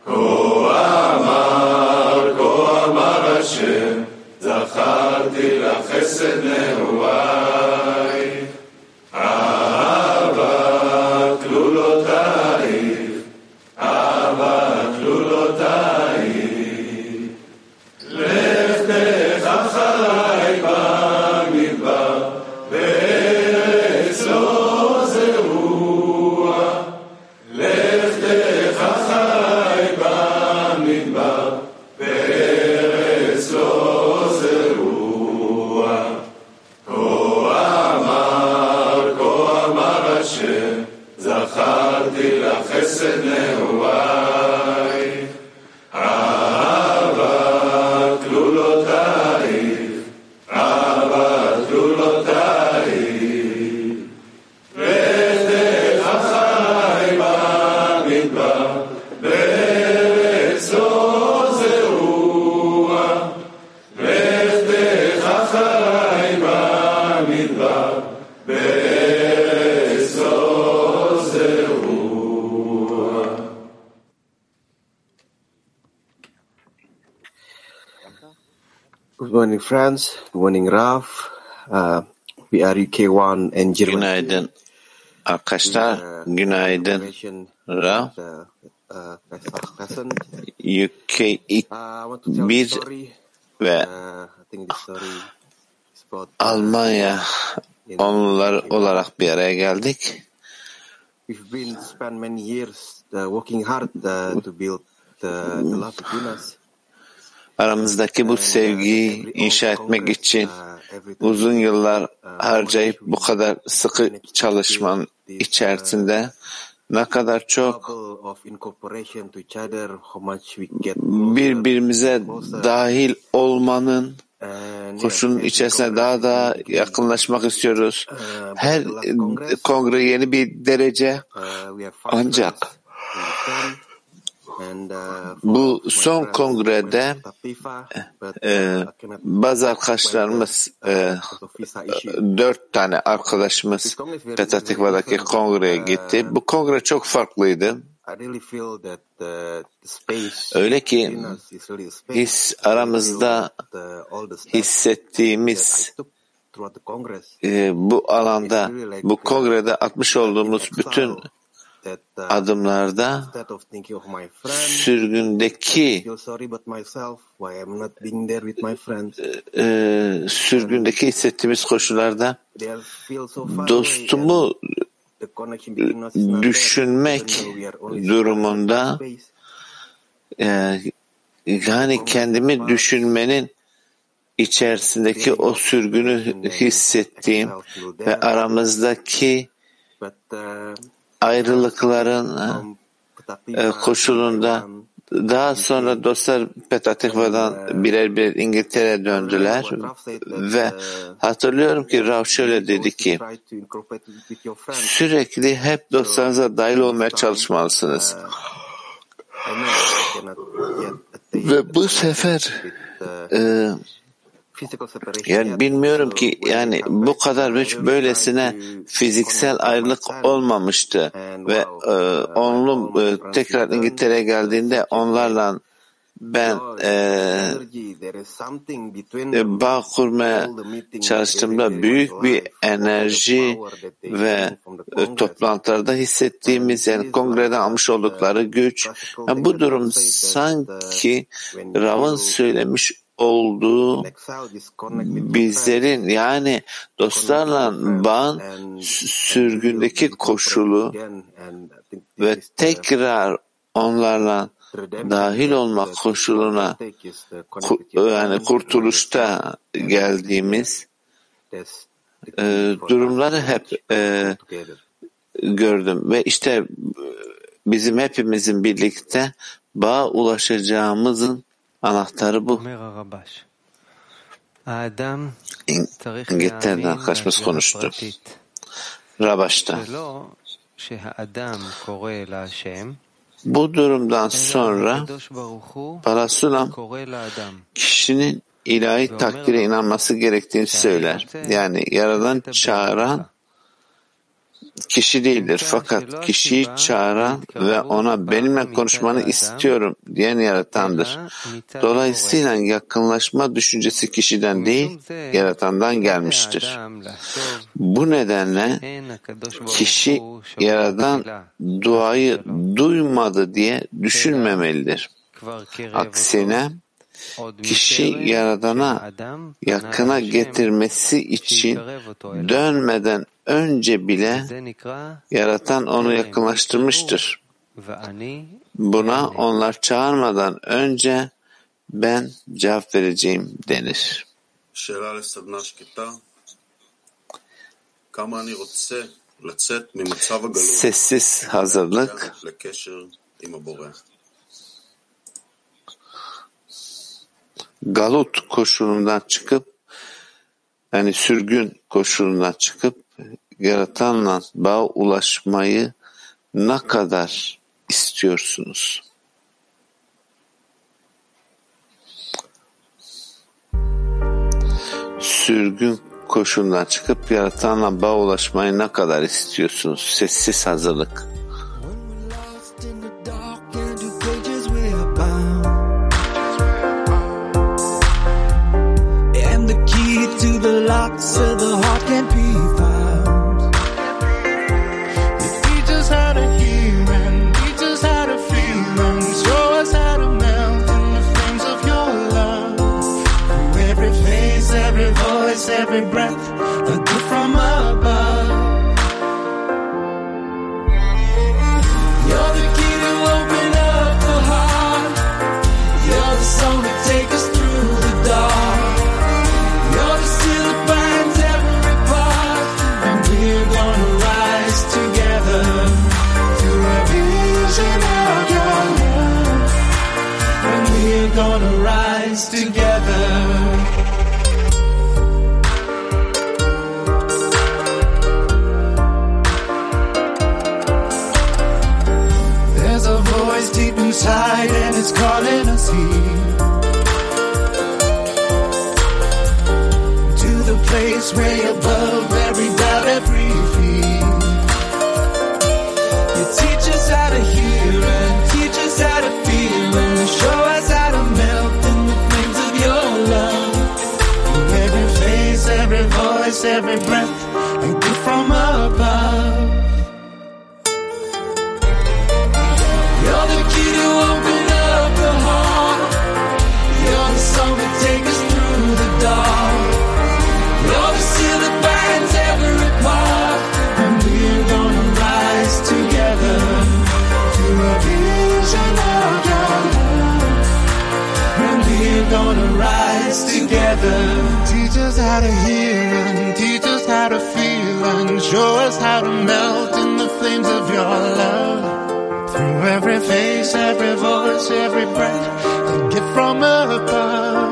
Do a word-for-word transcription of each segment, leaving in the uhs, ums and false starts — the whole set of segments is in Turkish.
כה אמר, כה אמר השם, זכרתי לך חסד נעורייך, אהבת כלולותייך, אהבת כלולותייך. לכתך אחרי במדבר, בארץ לא זרוע. לכתך אחרי במדבר, בארץ לא זרוע. כה אמר, כה אמר השם, זכרתי לך חסד נעורייך, אהבת כלולותייך, אהבת כלולותייך. לכתך אחרי במדבר, בארץ לא זרוע. לכתך אחרי במדבר, בארץ לא זרוע. Good morning, friends. Good morning, Raf. Uh, we are U K one and Germany. Günaydın arkadaşlar, günaydın Ra. U K bir ve Almanya onlar olarak bir araya geldik. We've been spent many years uh, working hard uh, to build the, the love between us. Aramızdaki bu sevgiyi inşa etmek için uzun yıllar harcayıp bu kadar sıkı çalışmanın içerisinde ne kadar çok birbirimize dahil olmanın koşulun içerisine daha da yakınlaşmak istiyoruz. Her kongre yeni bir derece, ancak bu son kongrede e, bazı arkadaşlarımız, e, dört tane arkadaşımız Petah Tikva'daki kongreye gitti. Bu kongre çok farklıydı. Öyle ki his aramızda hissettiğimiz e, bu alanda, bu kongrede atmış olduğumuz bütün adımlarda sürgündeki e, sürgündeki hissettiğimiz koşullarda dostumu düşünmek durumunda, e, yani kendimi düşünmenin içerisindeki o sürgünü hissettiğim ve aramızdaki ayrılıkların e, koşulunda daha sonra dostlar Petah Tikva'dan birer birer İngiltere'ye döndüler ve hatırlıyorum ki Rav şöyle dedi ki, sürekli hep dostlarınıza dahil olmaya çalışmalısınız. Ve bu sefer e, yani bilmiyorum ki yani bu kadar hiç böylesine fiziksel ayrılık olmamıştı ve e, onlu e, tekrar İngiltere'ye geldiğinde onlarla ben e, e, bağ kurmaya çalıştığımda büyük bir enerji ve e, toplantılarda hissettiğimiz, yani kongreden almış oldukları güç, yani bu durum sanki Rav'ın söylemiş olduğu bizlerin, yani dostlarla bağın sürgündeki koşulu ve tekrar onlarla dahil olmak koşuluna yani kurtuluşta geldiğimiz e, durumları hep e, gördüm ve işte bizim hepimizin birlikte bağa ulaşacağımızın anahtarı bu. İngiltere'den arkadaşımız konuştu. Rabaş'ta. Bu durumdan sonra Parasulam kişinin ilahi takdire inanması gerektiğini söyler. Yani Yaradan çağıran kişi değildir. Fakat kişiyi çağıran ve ona benimle konuşmanı istiyorum diyen yaratandır. Dolayısıyla yakınlaşma düşüncesi kişiden değil, yaratandan gelmiştir. Bu nedenle kişi yaradan duayı duymadı diye düşünmemelidir. Aksine kişi yaradana yakına getirmesi için dönmeden önce bile yaratan onu yakınlaştırmıştır. Buna onlar çağırmadan önce ben cevap vereceğim denir. Sessiz hazırlık. Galut koşulundan çıkıp, yani sürgün koşulundan çıkıp yaratanla bağa ulaşmayı ne kadar istiyorsunuz? Sürgün koşulundan çıkıp yaratanla bağa ulaşmayı ne kadar istiyorsunuz? Sessiz hazırlık. To the lock so the heart can't be found. You teach us how to hear and teach us how to feel and show us how to melt in the flames of your love. Through every face, every voice, every breath, a gift from above. You're the key to open up the heart. You're the song to take us through the dark. Gonna rise together. There's a voice deep inside and it's calling us here to the place way above every doubt, every fear. You teach us how to hear and teach us how to feel and show us how to melt in the flames of your love. Through every face, every voice, every breath, a gift from above. You're the key to open up the heart. You're the song that takes us through the dark. You're the seal that binds every part. And we're gonna rise together to a vision of your love. And we're gonna rise together. Teach us how to hear and teach us how to feel and show us how to melt in the flames of your love. Through every face, every voice, every breath, a gift from above.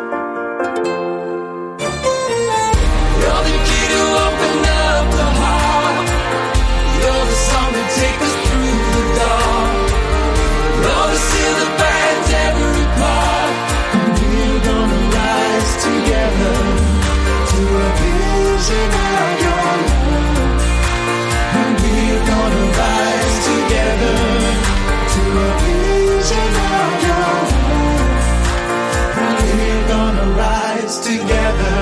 You're the key to open up the heart. You're the song that takes us through the dark. You're the seal that binds every part. And we're gonna rise together to a vision of your love. And we're gonna rise together to a vision of your love. And we're gonna rise together.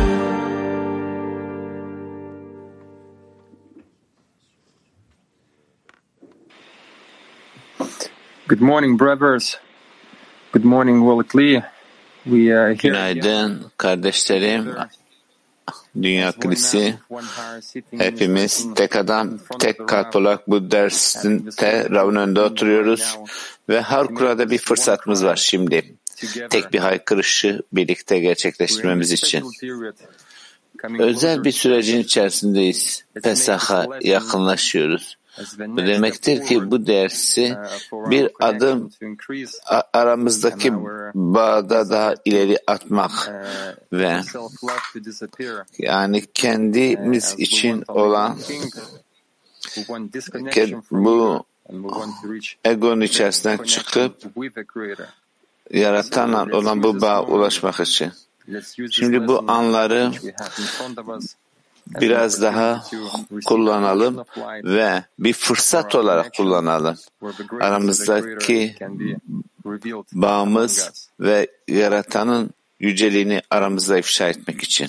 Good morning, brothers. Good morning, Wolikli. We are here. Günaydın kardeşlerim. Dünya Kilisi. Hepimiz tek adam, tek kalp olarak bu derste Rav'ın önünde oturuyoruz ve harikulade bir fırsatımız var şimdi. Tek bir haykırışı birlikte gerçekleştirmemiz için. Özel bir sürecin içerisindeyiz. Pesah'a yakınlaşıyoruz. Bu demektir ki bu dersi bir adım aramızdaki bağda daha ileri atmak ve yani kendimiz için olan bu egonun içerisinden çıkıp yaratanla olan bu bağa ulaşmak için. Şimdi bu anları biraz daha kullanalım ve bir fırsat olarak kullanalım. Aramızdaki bağımız ve Yaratan'ın yüceliğini aramızda ifşa etmek için.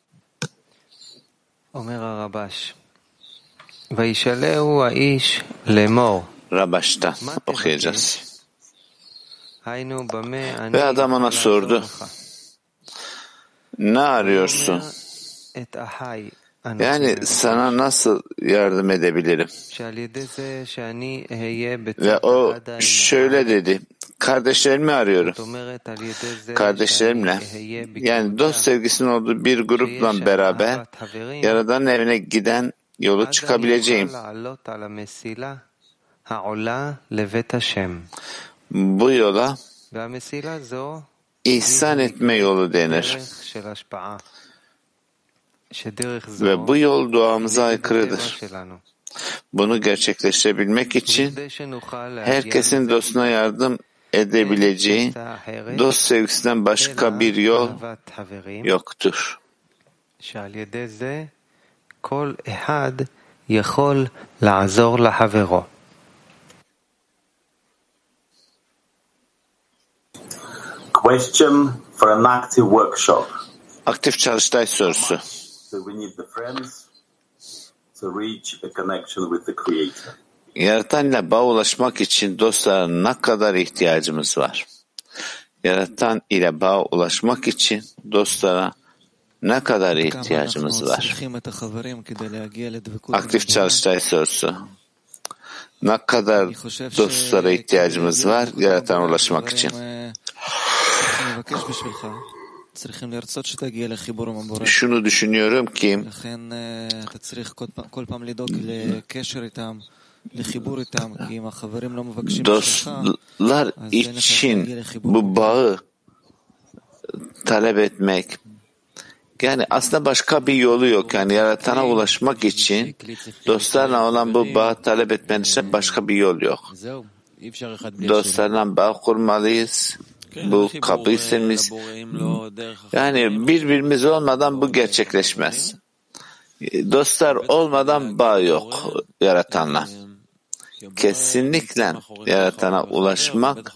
Rabaş'ta okuyacağız. Ve adam ona sordu, ne arıyorsun? Yani sana nasıl yardım edebilirim? Ve o şöyle dedi, kardeşlerimi arıyorum. Kardeşlerimle, yani dost sevgisinin olduğu bir grupla beraber Yaradan'ın evine giden yolu çıkabileceğim. Bu yola ihsan etme yolu denir. Ve bu yol duamıza aykırıdır. Bunu gerçekleştirebilmek için herkesin dostuna yardım edebileceği dost sevgisinden başka bir yol yoktur. Question for an active workshop. Aktif çalıştay sorusu. So we need the friends to reach a connection with the Creator. Yaratan ile bağ ulaşmak için dostlara ne kadar ihtiyacımız var? Yaratan ile bağ ulaşmak için dostlara ne kadar ihtiyacımız var? Aktif çalıştay sorusu. Ne kadar dostlara ihtiyacımız var Yaratan'a ulaşmak için? Şunu düşünüyorum ki dostlar için bu bağı talep etmek, yani aslında başka bir yolu yok. Yani Yaratan'a ulaşmak için dostlarla olan bu bağı talep etmenin için başka bir yol yok. Dostlarla bağ kurmalıyız. Bu kaprisimiz. Yani birbirimiz olmadan bu gerçekleşmez. Dostlar olmadan bağ yok Yaratan'la. Kesinlikle Yaratan'a ulaşmak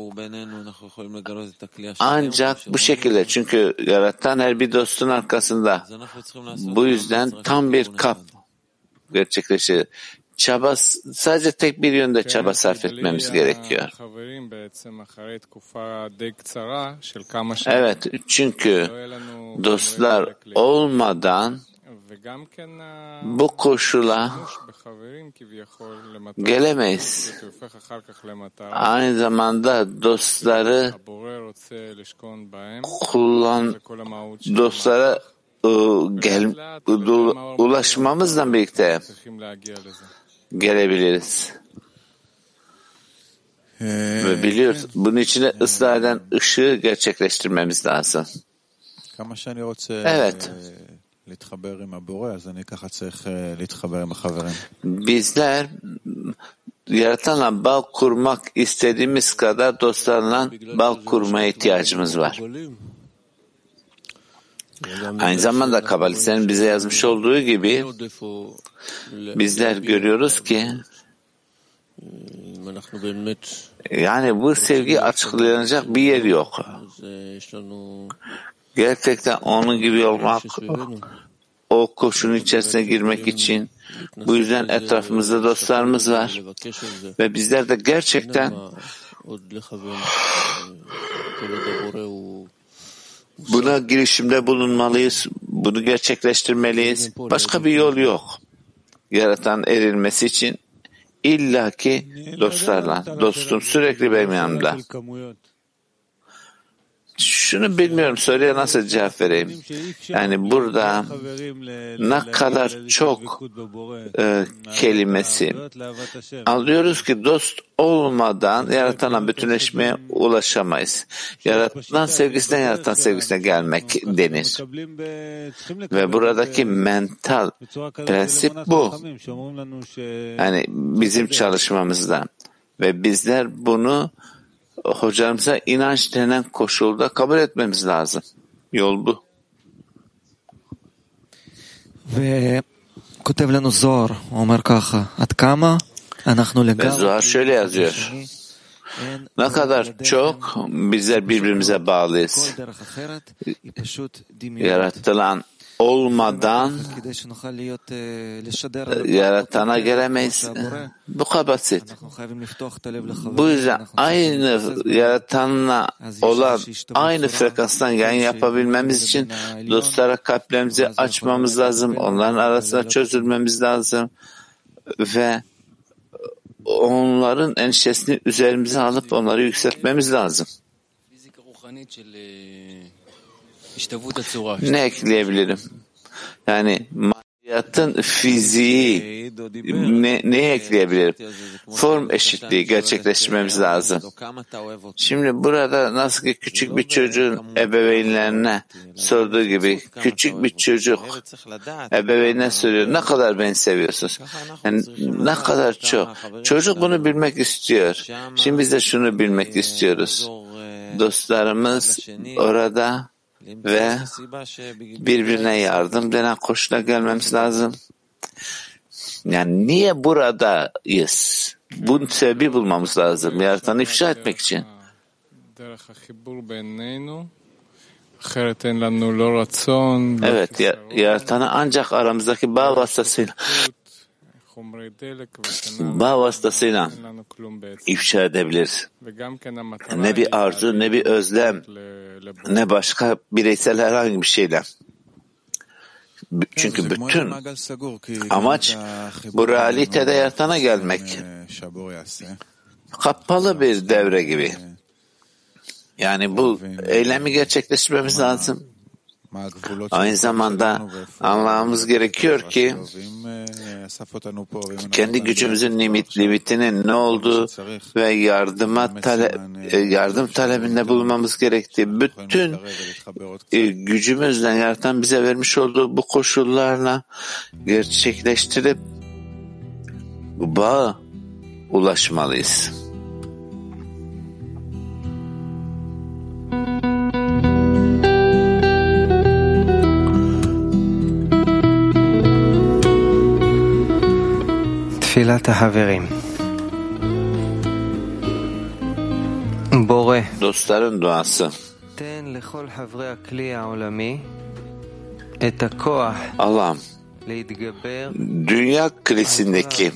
ancak bu şekilde. Çünkü Yaratan her bir dostun arkasında. Bu yüzden tam bir kap gerçekleşir. Çaba, sadece tek bir yönde çaba sarf etmemiz gerekiyor. Evet, çünkü dostlar olmadan bu koşula gelemeyiz. Aynı zamanda dostları kullan, dostlara gel, ulaşmamızla birlikte gelebiliriz. Ve biliyoruz, bunun için de ıslah eden ışığı gerçekleştirmemiz lazım. Evet. Bizler Yaratan'la bağ kurmak istediğimiz kadar dostlarla bağ kurmaya ihtiyacımız var. Aynı zamanda kabalistlerin bize yazmış olduğu gibi bizler görüyoruz ki yani bu sevgi açıklanacak bir yer yok. Gerçekten onun gibi olmak, o koşunun içerisine girmek için bu yüzden etrafımızda dostlarımız var ve bizler de gerçekten buna girişimde bulunmalıyız, bunu gerçekleştirmeliyiz. Başka bir yol yok. Yaratan erilmesi için illaki dostlarla. Dostum sürekli benim yanımda. Şunu bilmiyorum, soruya nasıl cevap vereyim? Yani burada ne kadar çok e, kelimesi alıyoruz ki dost olmadan Yaratan'la bütünleşmeye ulaşamayız. Yaratan sevgisine, Yaratan sevgisine gelmek denir. Ve buradaki mental prensip bu. Yani bizim çalışmamızda. Ve bizler bunu hocamıza inanç denen koşulda kabul etmemiz lazım. Yol bu. וכותב לנו זוהר, הוא אומר ככה, עד כמה אנחנו Ve לגמרי Zuhar şöyle yazıyor. Ne kadar çok bizler birbirimize bağlıyız. Yaratılan olmadan yaratana gelemeyiz. Bu kadar basit. Bu yüzden aynı yaratanla olan aynı frekanstan yayın yapabilmemiz için dostlara kalplerimizi açmamız lazım. Onların arasında çözülmemiz lazım. Ve onların endişesini üzerimize alıp onları yükseltmemiz lazım. Ne ekleyebilirim? Yani maneviyatın fiziği ne, neye ekleyebilirim? Form eşitliği gerçekleştirmemiz lazım. Şimdi burada nasıl ki küçük bir çocuğun ebeveynlerine sorduğu gibi küçük bir çocuk ebeveynine soruyor, ne kadar beni seviyorsunuz? Yani ne kadar çok. Çocuk bunu bilmek istiyor. Şimdi biz de şunu bilmek istiyoruz. Dostlarımız orada ve birbirine yardım denen koşula gelmemiz lazım. Yani niye buradayız? Bunun sebebi bulmamız lazım. Yaratanı ifşa etmek için. Evet, yaratanı ancak aramızdaki bağ vasıtasıyla bağ vasıtasıyla ifşa edebiliriz. Ne bir arzu, ne bir özlem, ne başka bireysel herhangi bir şeyle. Çünkü bütün amaç bu realitede yaratana gelmek. Kapalı bir devre gibi. Yani bu eylemi gerçekleştirmemiz lazım. Aynı zamanda anlamamız gerekiyor ki kendi gücümüzün limit, limitinin ne olduğu ve yardıma tale, yardım talebinde bulunmamız gerektiği, bütün gücümüzle yaratan bize vermiş olduğu bu koşullarla gerçekleştirip bağa ulaşmalıyız. תפילת החברים. בורא, Dostların duası. תן לכל חברי הכלי העולמי את הכוח Allah'ım, להתגבר dünya klisindeki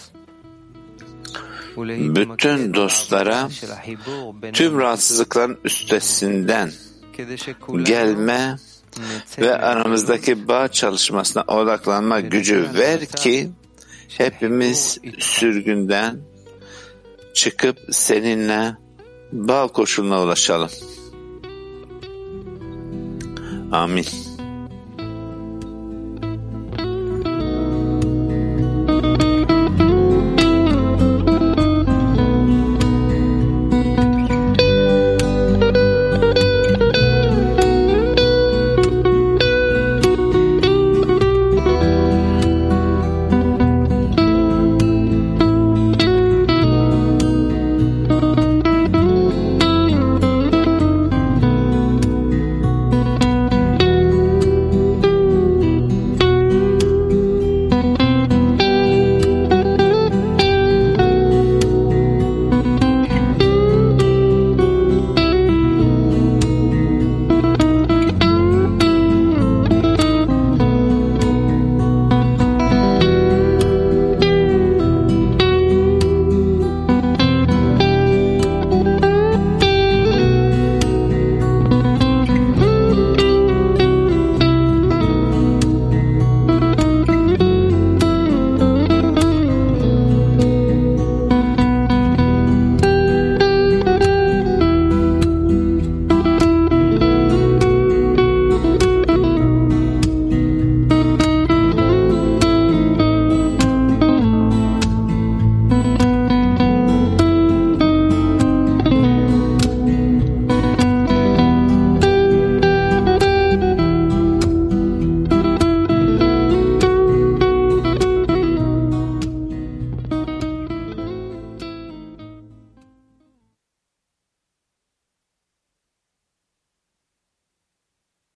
bütün dostlara tüm rahatsızlıkların üstesinden gelme ve aramızdaki bağ çalışmasına odaklanma gücü ver ki hepimiz sürgünden çıkıp seninle bağ koşuluna ulaşalım. Amin.